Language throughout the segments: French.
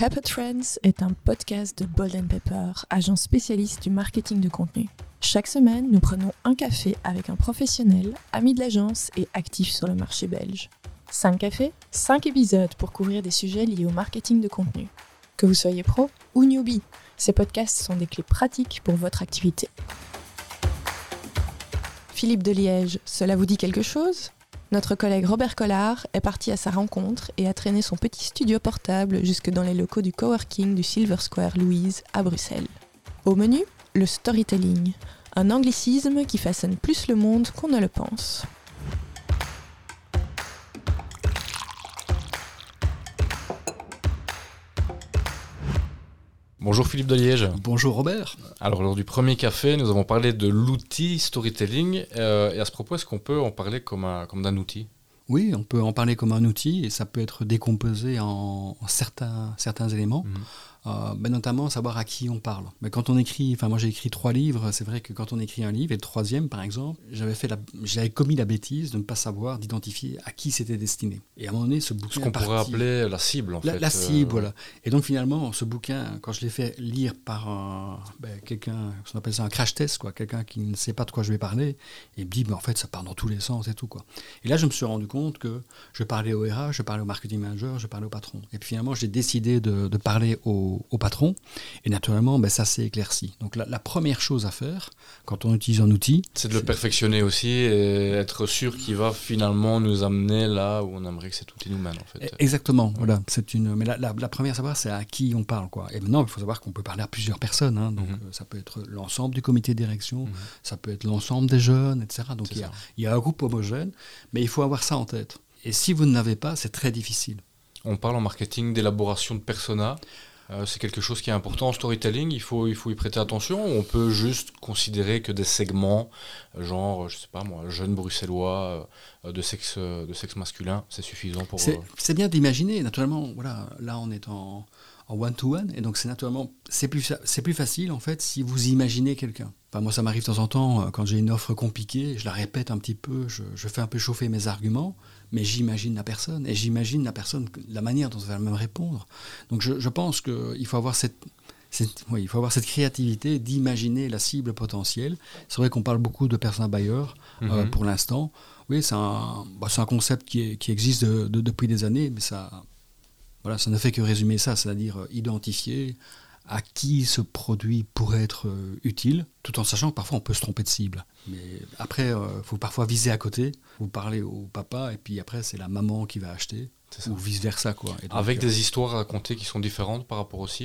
Pepper Trends est un podcast de Bold & Pepper, agence spécialiste du marketing de contenu. Chaque semaine, nous prenons un café avec un professionnel, ami de l'agence et actif sur le marché belge. 5 cafés, 5 épisodes pour couvrir des sujets liés au marketing de contenu. Que vous soyez pro ou newbie, ces podcasts sont des clés pratiques pour votre activité. Philippe de Liège, cela vous dit quelque chose ? Notre collègue Robert Collard est parti à sa rencontre et a traîné son petit studio portable jusque dans les locaux du coworking du Silver Square Louise à Bruxelles. Au menu, le storytelling, un anglicisme qui façonne plus le monde qu'on ne le pense. Bonjour Philippe de Liège. Bonjour Robert. Alors lors du premier café, nous avons parlé de l'outil storytelling et à ce propos, est-ce qu'on peut en parler comme d'un outil ? Oui, on peut en parler comme un outil et ça peut être décomposé en certains éléments. Notamment savoir à qui on parle. Mais quand on écrit, moi j'ai écrit 3 livres, c'est vrai que quand on écrit un livre, et le 3e par exemple, j'avais commis la bêtise de ne pas savoir, d'identifier à qui c'était destiné. Et à un moment donné, ce bouquin ce qu'on pourrait appeler la cible en fait. La cible, voilà. Et donc finalement, ce bouquin, quand je l'ai fait lire par quelqu'un, on appelle ça un crash test, quoi, quelqu'un qui ne sait pas de quoi je vais parler, et me dit, en fait ça part dans tous les sens et tout, quoi. Et là je me suis rendu compte que je parlais au RH, je parlais au marketing manager, je parlais au patron. Et puis finalement j'ai décidé de parler au patron, et naturellement ça s'est éclairci. Donc la première chose à faire quand on utilise un outil, c'est de le perfectionner aussi et être sûr qu'il va finalement nous amener là où on aimerait que cet outil nous mène en fait. Exactement, voilà. Mais la première à savoir, c'est à qui on parle, quoi. Et maintenant il faut savoir qu'on peut parler à plusieurs personnes, hein. Donc ça peut être l'ensemble du comité de direction, ça peut être l'ensemble des jeunes, etc. Donc il y a un groupe homogène, mais il faut avoir ça en tête. Et si vous ne l'avez pas, c'est très difficile. On parle en marketing d'élaboration de persona. C'est quelque chose qui est important en storytelling, il faut y prêter attention. On peut juste considérer que des segments, genre, je sais pas moi, jeunes bruxellois de sexe masculin, c'est suffisant pour... C'est bien d'imaginer, naturellement, voilà, là on est en one-to-one, et donc c'est plus facile en fait si vous imaginez quelqu'un. Moi ça m'arrive de temps en temps, quand j'ai une offre compliquée, je la répète un petit peu, je fais un peu chauffer mes arguments, mais j'imagine la personne, et j'imagine la manière dont elle va me répondre. Donc je pense qu'il faut avoir il faut avoir cette créativité d'imaginer la cible potentielle. C'est vrai qu'on parle beaucoup de persona buyer pour l'instant. Oui, c'est un concept qui existe depuis des années, mais ça ne fait que résumer ça, c'est-à-dire identifier à qui ce produit pourrait être utile, tout en sachant que parfois on peut se tromper de cible. Mais après, il faut parfois viser à côté. Vous parlez au papa, et puis après, c'est la maman qui va acheter, ou vice-versa, quoi. Et donc, avec des histoires à raconter qui sont différentes par rapport aux cibles ?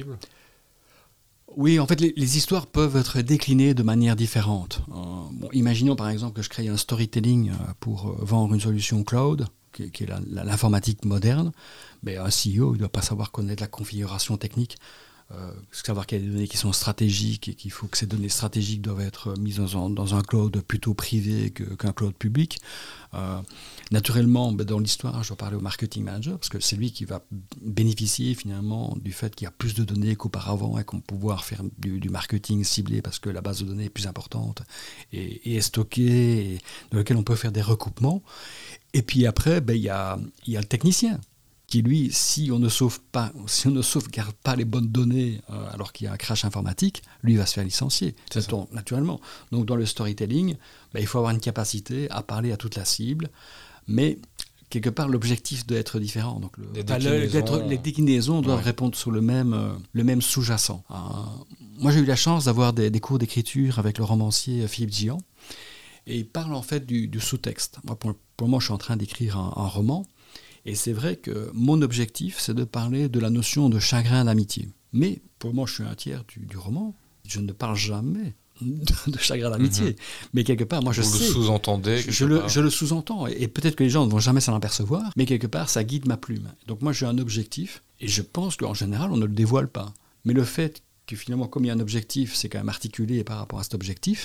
Oui, en fait, les histoires peuvent être déclinées de manière différente. Imaginons par exemple que je crée un storytelling pour vendre une solution cloud, qui est l'informatique moderne. Mais un CEO, il ne doit pas savoir connaître la configuration technique, savoir qu'il y a des données qui sont stratégiques et qu'il faut que ces données stratégiques doivent être mises dans un cloud plutôt privé qu'un cloud public. Naturellement, dans l'histoire, je dois parler au marketing manager parce que c'est lui qui va bénéficier finalement du fait qu'il y a plus de données qu'auparavant et qu'on va pouvoir faire du marketing ciblé parce que la base de données est plus importante et est stockée et dans laquelle on peut faire des recoupements. Et puis après, il y a le technicien qui lui, si on ne sauvegarde pas les bonnes données alors qu'il y a un crash informatique, lui va se faire licencier, naturellement. Donc dans le storytelling, il faut avoir une capacité à parler à toute la cible, mais quelque part l'objectif doit être différent. Donc les déclinaisons doivent répondre sur le même sous-jacent. Moi j'ai eu la chance d'avoir des cours d'écriture avec le romancier Philippe Gian, et il parle en fait du sous-texte. Moi, pour le moment, je suis en train d'écrire un roman. Et c'est vrai que mon objectif, c'est de parler de la notion de chagrin d'amitié. Mais pour moi, je suis un tiers du roman. Je ne parle jamais de chagrin d'amitié. Mais quelque part, moi, je sais. Vous le sous-entendez. Je le sous-entends. Et peut-être que les gens ne vont jamais s'en apercevoir. Mais quelque part, ça guide ma plume. Donc moi, j'ai un objectif. Et je pense qu'en général, on ne le dévoile pas. Mais le fait que finalement, comme il y a un objectif, c'est quand même articulé par rapport à cet objectif,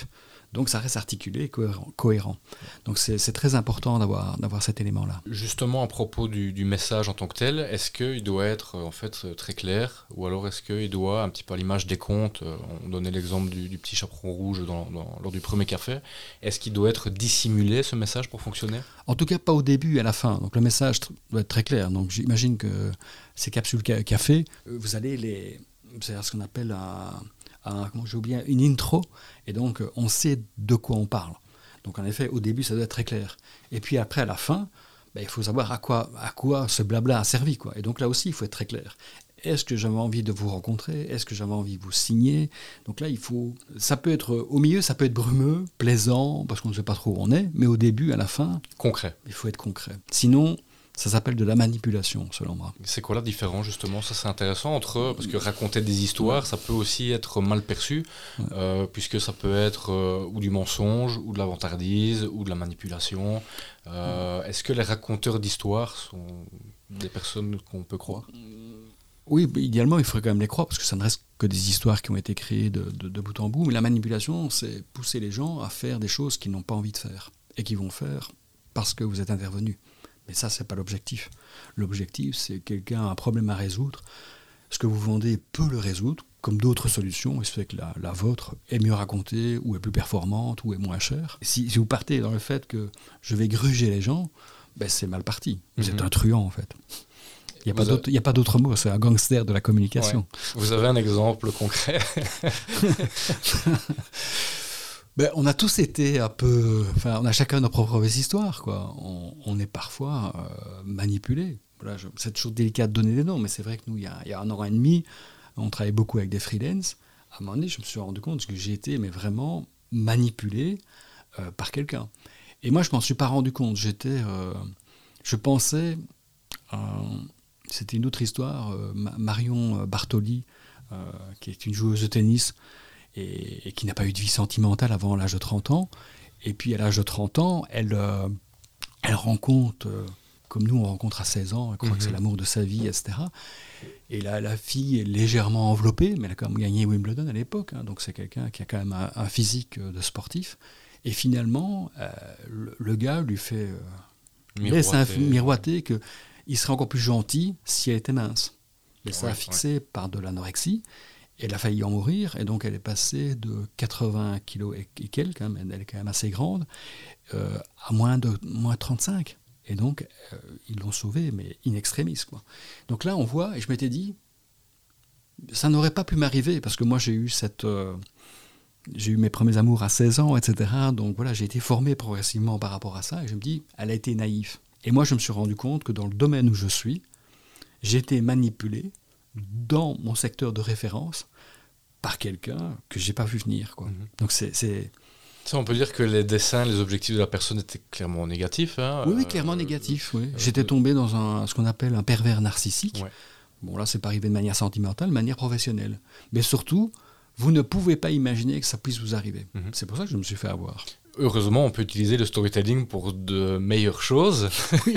Donc ça reste articulé et cohérent. Donc c'est très important d'avoir cet élément-là. Justement, à propos du message en tant que tel, est-ce qu'il doit être en fait très clair, ou alors est-ce qu'il doit, un petit peu à l'image des contes, on donnait l'exemple du petit chaperon rouge lors du premier café, est-ce qu'il doit être dissimulé ce message pour fonctionner? En tout cas, pas au début et à la fin. Donc le message doit être très clair. Donc j'imagine que ces capsules café, vous allez c'est ce qu'on appelle une intro, et donc on sait de quoi on parle. Donc en effet, au début, ça doit être très clair. Et puis après, à la fin, il faut savoir à quoi ce blabla a servi, quoi. Et donc là aussi, il faut être très clair. Est-ce que j'avais envie de vous rencontrer? Est-ce que j'avais envie de vous signer? Donc là, ça peut être, au milieu, ça peut être brumeux, plaisant, parce qu'on ne sait pas trop où on est, mais au début, à la fin, concret. Il faut être concret. Sinon, ça s'appelle de la manipulation, selon moi. C'est quoi la différence, justement? Ça, c'est intéressant parce que raconter des histoires, ça peut aussi être mal perçu, puisque ça peut être ou du mensonge, ou de la vantardise, ou de la manipulation. Est-ce que les raconteurs d'histoires sont des personnes qu'on peut croire? Oui, idéalement, il faudrait quand même les croire, parce que ça ne reste que des histoires qui ont été créées de bout en bout. Mais la manipulation, c'est pousser les gens à faire des choses qu'ils n'ont pas envie de faire, et qu'ils vont faire parce que vous êtes intervenu. Mais ça, c'est pas l'objectif. L'objectif, c'est quelqu'un a un problème à résoudre. Ce que vous vendez peut le résoudre, comme d'autres solutions, et ce fait que la vôtre est mieux racontée, ou est plus performante, ou est moins chère. Si vous partez dans le fait que je vais gruger les gens, c'est mal parti. Vous êtes un truand, en fait. Il n'y a pas d'autre mot, c'est un gangster de la communication. Ouais. Vous avez un exemple concret? On a tous été un peu... Enfin, on a chacun nos propres histoires, quoi. On est parfois manipulés. Voilà, c'est toujours délicat de donner des noms, mais c'est vrai que nous, il y a 1 an et demi, on travaillait beaucoup avec des freelances. À un moment donné, je me suis rendu compte que j'ai été vraiment manipulé par quelqu'un. Et moi, je ne m'en suis pas rendu compte. Je pensais... c'était une autre histoire. Marion Bartoli, qui est une joueuse de tennis, et qui n'a pas eu de vie sentimentale avant l'âge de 30 ans. Et puis à l'âge de 30 ans, elle rencontre, comme nous on rencontre à 16 ans, elle croit que c'est l'amour de sa vie, etc. Et la fille est légèrement enveloppée, mais elle a quand même gagné Wimbledon à l'époque, donc c'est quelqu'un qui a quand même un physique de sportif. Et finalement, le gars lui fait miroiter qu'il serait encore plus gentil si elle était mince. Mais ça a fixé par de l'anorexie. Elle a failli en mourir, et donc elle est passée de 80 kilos et quelques, elle est quand même assez grande, à moins 35. Et donc, ils l'ont sauvée, mais in extremis, quoi. Donc là, on voit, et je m'étais dit, ça n'aurait pas pu m'arriver, parce que moi, j'ai eu mes premiers amours à 16 ans, etc. Donc voilà, j'ai été formé progressivement par rapport à ça, et je me dis, elle a été naïve. Et moi, je me suis rendu compte que dans le domaine où je suis, j'ai été manipulé dans mon secteur de référence par quelqu'un que je n'ai pas vu venir, quoi. Donc c'est... Ça, on peut dire que les dessins, les objectifs de la personne étaient clairement négatifs. Hein. Oui, clairement négatifs. Oui. J'étais tombé dans ce qu'on appelle un pervers narcissique. Ouais. Bon, là, c'est pas arrivé de manière sentimentale, de manière professionnelle. Mais surtout, vous ne pouvez pas imaginer que ça puisse vous arriver. C'est pour ça que je me suis fait avoir. Heureusement, on peut utiliser le storytelling pour de meilleures choses. Oui,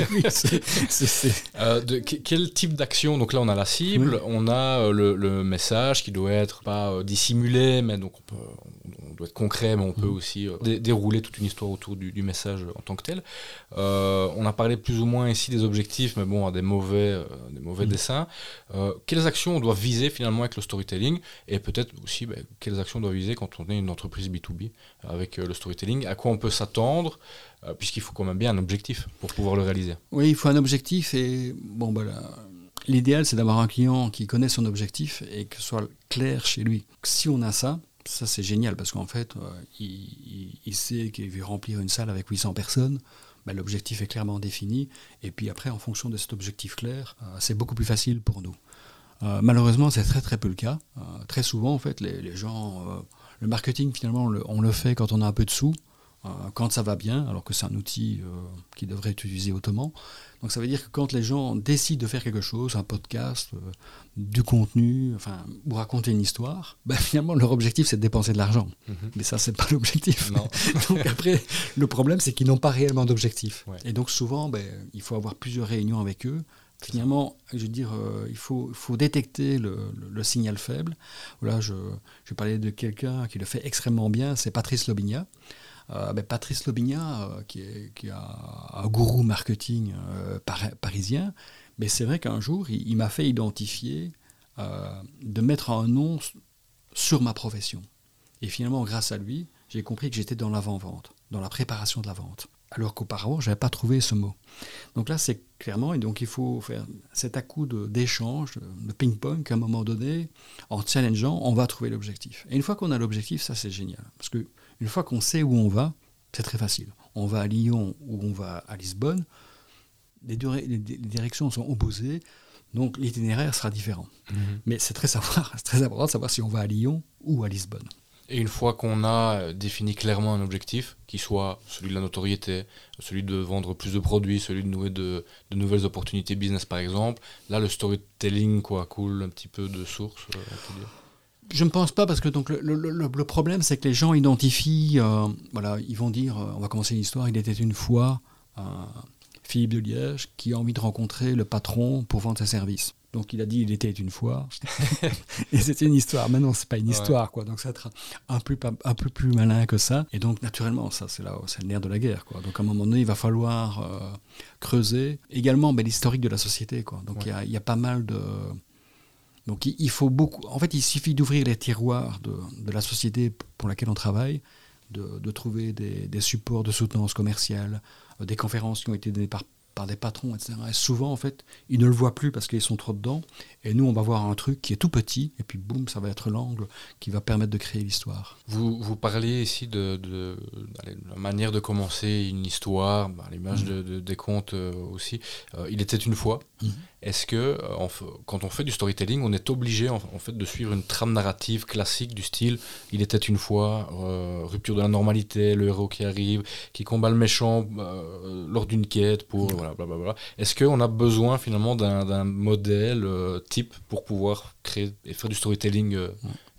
quel type d'action? Donc là, on a la cible, on a le message qui doit être pas dissimulé, mais donc on doit être concret, mais on peut aussi dérouler toute une histoire autour du message en tant que tel. On a parlé plus ou moins ici des objectifs, mais bon, à des mauvais dessins. Quelles actions on doit viser finalement avec le storytelling? Et peut-être aussi, quelles actions on doit viser quand on est une entreprise B2B avec le storytelling? À quoi on peut s'attendre, puisqu'il faut quand même bien un objectif pour pouvoir le réaliser. Oui, il faut un objectif, et l'idéal, c'est d'avoir un client qui connaît son objectif et que ce soit clair chez lui. Si on a ça c'est génial, parce qu'en fait, il sait qu'il veut remplir une salle avec 800 personnes, l'objectif est clairement défini, et puis après, en fonction de cet objectif clair, c'est beaucoup plus facile pour nous. Malheureusement, c'est très très peu le cas. Très souvent, en fait, les gens... le marketing, finalement, on le fait quand on a un peu de sous, quand ça va bien, alors que c'est un outil qui devrait être utilisé autrement. Donc ça veut dire que quand les gens décident de faire quelque chose, un podcast, du contenu, ou raconter une histoire, finalement leur objectif c'est de dépenser de l'argent. Mais ça c'est pas l'objectif. Donc après, le problème c'est qu'ils n'ont pas réellement d'objectif. Ouais. Et donc souvent, il faut avoir plusieurs réunions avec eux Finalement, je veux dire, il faut détecter le signal faible. Voilà, je parlais de quelqu'un qui le fait extrêmement bien, c'est Patrice Lobigna. Patrice Lobigna, qui est un gourou marketing parisien, mais c'est vrai qu'un jour, il m'a fait identifier de mettre un nom sur ma profession. Et finalement, grâce à lui, j'ai compris que j'étais dans l'avant-vente, dans la préparation de la vente. Alors qu'auparavant, je n'avais pas trouvé ce mot. Donc là, c'est clairement, et donc il faut faire cet à-coup d'échange, de ping-pong, qu'à un moment donné, en challengeant, on va trouver l'objectif. Et une fois qu'on a l'objectif, ça c'est génial. Parce qu'une fois qu'on sait où on va, c'est très facile. On va à Lyon ou on va à Lisbonne, les directions sont opposées, donc l'itinéraire sera différent. Mais c'est très important de savoir si on va à Lyon ou à Lisbonne. Et une fois qu'on a défini clairement un objectif, qui soit celui de la notoriété, celui de vendre plus de produits, celui de nouer de nouvelles opportunités business par exemple, là le storytelling coule un petit peu de source, on peut dire. Je ne pense pas, parce que donc, le problème c'est que les gens identifient, ils vont dire, on va commencer une histoire, il était une fois Philippe de Liège qui a envie de rencontrer le patron pour vendre ses services. Donc il a dit il était une fois, et c'était une histoire. Mais non, c'est pas une histoire, quoi. Donc ça va être un peu plus malin que ça. Et donc naturellement, ça c'est le nerf de la guerre, quoi. Donc à un moment donné, il va falloir creuser. Également, l'historique de la société, quoi. Donc il y a pas mal de. Donc il faut beaucoup. En fait, il suffit d'ouvrir les tiroirs de la société pour laquelle on travaille, de trouver des supports de soutenance commerciale, des conférences qui ont été données par des patrons, etc. Et souvent, en fait, ils ne le voient plus parce qu'ils sont trop dedans. Et nous, on va voir un truc qui est tout petit, et puis boum, ça va être l'angle qui va permettre de créer l'histoire. Vous parliez ici de la manière de commencer une histoire, l'image des contes aussi. Il était une fois. Est-ce que, quand on fait du storytelling, on est obligé en fait, de suivre une trame narrative classique du style « Il était une fois rupture de la normalité, le héros qui arrive, qui combat le méchant lors d'une quête pour... blablabla ». Est-ce qu'on a besoin finalement d'un modèle type pour pouvoir créer et faire du storytelling efficacement ?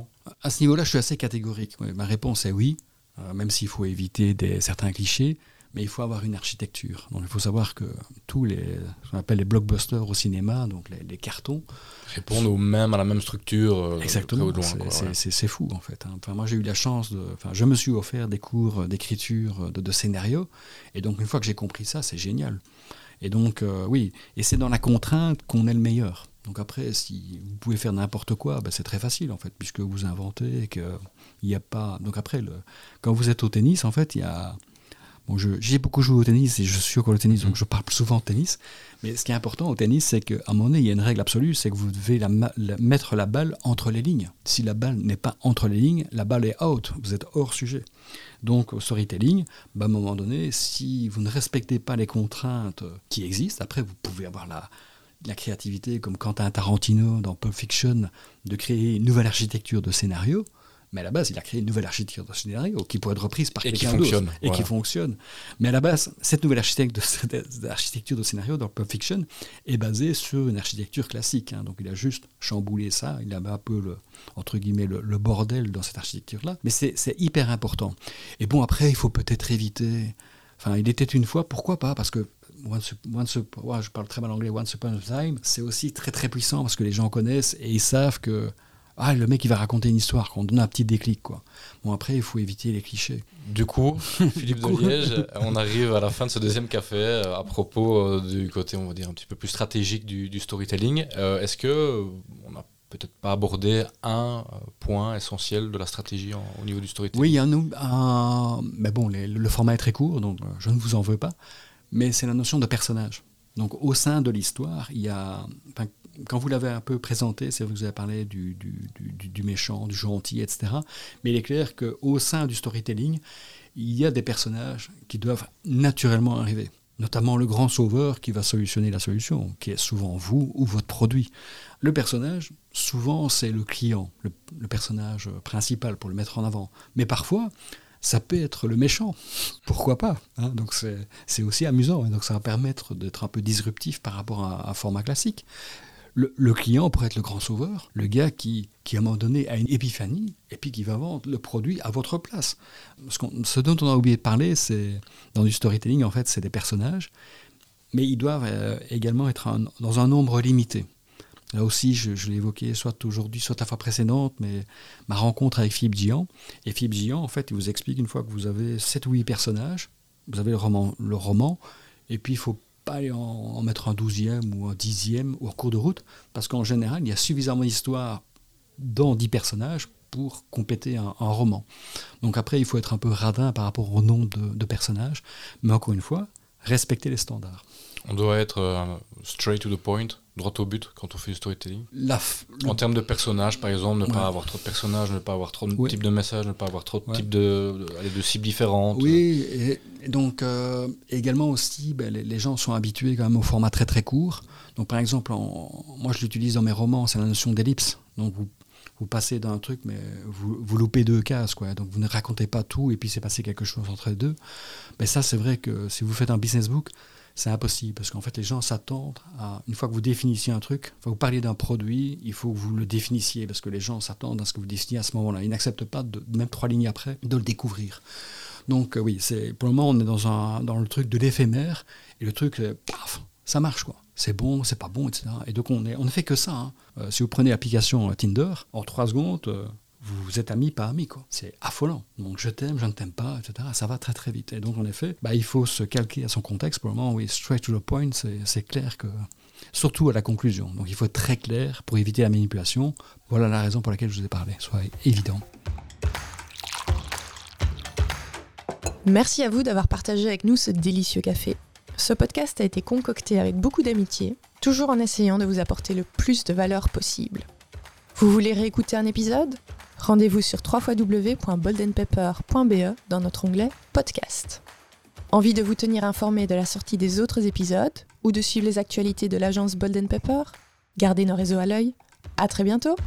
À ce niveau-là, je suis assez catégorique. Ma réponse est oui, même s'il faut éviter certains clichés. Mais il faut avoir une architecture. Donc il faut savoir que tous ce qu'on appelle les blockbusters au cinéma, donc les cartons, répondent à la même structure. Exactement. C'est fou en fait. Enfin, moi j'ai eu la chance je me suis offert des cours d'écriture de scénario, et donc une fois que j'ai compris ça, c'est génial. Et donc oui, et c'est dans la contrainte qu'on est le meilleur. Donc après, si vous pouvez faire n'importe quoi, c'est très facile en fait, puisque vous inventez et qu'il n'y a pas. Donc après, quand vous êtes au tennis, en fait, il y a. Bon, j'ai beaucoup joué au tennis et je suis encore au tennis, donc je parle souvent de tennis. Mais ce qui est important au tennis, c'est qu'à un moment donné, il y a une règle absolue, c'est que vous devez mettre la balle entre les lignes. Si la balle n'est pas entre les lignes, la balle est out, vous êtes hors sujet. Donc au storytelling, à un moment donné, si vous ne respectez pas les contraintes qui existent, après vous pouvez avoir la créativité, comme Quentin Tarantino dans Pulp Fiction, de créer une nouvelle architecture de scénario. Mais à la base, il a créé une nouvelle architecture de scénario qui pourrait être reprise par quelqu'un d'autre. Et qui fonctionne. Mais à la base, cette nouvelle architecture de scénario dans Pulp Fiction est basée sur une architecture classique. Donc il a juste chamboulé ça, il a mis un peu entre guillemets, le bordel dans cette architecture-là. Mais c'est hyper important. Et bon, après, il faut peut-être éviter... Enfin, il était une fois, pourquoi pas ? Parce que je parle très mal anglais, Once Upon a Time, c'est aussi très très puissant parce que les gens connaissent et ils savent que le mec il va raconter une histoire, qu'on donne un petit déclic, quoi. Bon, après il faut éviter les clichés. Du coup, Philippe de Liège, on arrive à la fin de ce deuxième café à propos du côté, on va dire, un petit peu plus stratégique du storytelling. Est-ce que on n'a peut-être pas abordé un point essentiel de la stratégie au niveau du storytelling ? Oui, il y a mais bon, le format est très court, donc je ne vous en veux pas, mais c'est la notion de personnage. Donc au sein de l'histoire, il y a... Quand vous l'avez un peu présenté, c'est vrai que vous avez parlé du méchant, du gentil, etc. Mais il est clair qu'au sein du storytelling, il y a des personnages qui doivent naturellement arriver. Notamment le grand sauveur qui va solutionner la solution, qui est souvent vous ou votre produit. Le personnage, souvent, c'est le client, le personnage principal pour le mettre en avant. Mais parfois, ça peut être le méchant. Pourquoi pas, hein ? Donc c'est aussi amusant. Et donc ça va permettre d'être un peu disruptif par rapport à un format classique. Le client pourrait être le grand sauveur, le gars qui à un moment donné a une épiphanie et puis qui va vendre le produit à votre place. Ce dont on a oublié de parler, c'est dans du storytelling, en fait, c'est des personnages, mais ils doivent également être dans un nombre limité. Là aussi, je l'ai évoqué soit aujourd'hui, soit la fois précédente, mais ma rencontre avec Philippe Gian. Et Philippe Gian, en fait, il vous explique une fois que vous avez 7 ou 8 personnages, vous avez le roman, et puis il ne faut pas aller en mettre un 12e ou un 10e ou en cours de route, parce qu'en général, il y a suffisamment d'histoire dans 10 personnages pour compléter un roman. Donc après, il faut être un peu radin par rapport au nombre de personnages, mais encore une fois, respecter les standards. On doit être straight to the point, droit au but quand on fait du storytelling. En termes de personnages, par exemple, ne pas avoir trop de personnages, ne pas avoir trop de types de messages, ne pas avoir trop de types de cibles différentes. Oui, et donc également aussi, les gens sont habitués quand même au format très très court. Donc par exemple, moi je l'utilise dans mes romans, c'est la notion d'ellipse. Donc vous passez d'un truc, mais vous loupez 2 cases, quoi. Donc vous ne racontez pas tout et puis c'est passé quelque chose entre les deux. Mais ça, c'est vrai que si vous faites un business book, c'est impossible, parce qu'en fait, les gens s'attendent à, une fois que vous définissiez un truc, vous parliez d'un produit, il faut que vous le définissiez, parce que les gens s'attendent à ce que vous définiez à ce moment-là. Ils n'acceptent pas, même 3 lignes après, de le découvrir. Donc oui, pour le moment, on est dans le truc de l'éphémère, et le truc, paf, ça marche, quoi. C'est bon, c'est pas bon, etc. Et donc, on ne fait que ça. Si vous prenez l'application Tinder, en 3 secondes... vous êtes amis, pas amis, quoi. C'est affolant. Donc je t'aime, je ne t'aime pas, etc. Ça va très très vite. Et donc en effet, il faut se calquer à son contexte. Pour le moment, oui, straight to the point, c'est clair que... Surtout à la conclusion. Donc il faut être très clair pour éviter la manipulation. Voilà la raison pour laquelle je vous ai parlé. Soit évident. Merci à vous d'avoir partagé avec nous ce délicieux café. Ce podcast a été concocté avec beaucoup d'amitié, toujours en essayant de vous apporter le plus de valeur possible. Vous voulez réécouter un épisode ? Rendez-vous sur www.boldenpepper.be dans notre onglet Podcast. Envie de vous tenir informé de la sortie des autres épisodes ou de suivre les actualités de l'agence Bold & Pepper ? Gardez nos réseaux à l'œil. À très bientôt !